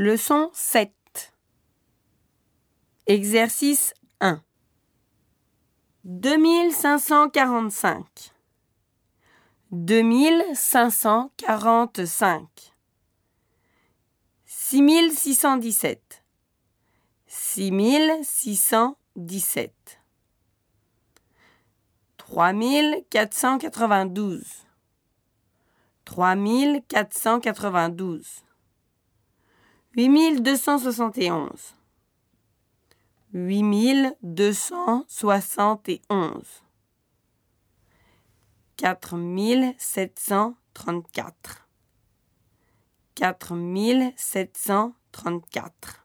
Leçon 7. Exercice 1. 2545. 2545. 6617. 6617. 3492. 3492. 8271. 8271. 4734. 4734.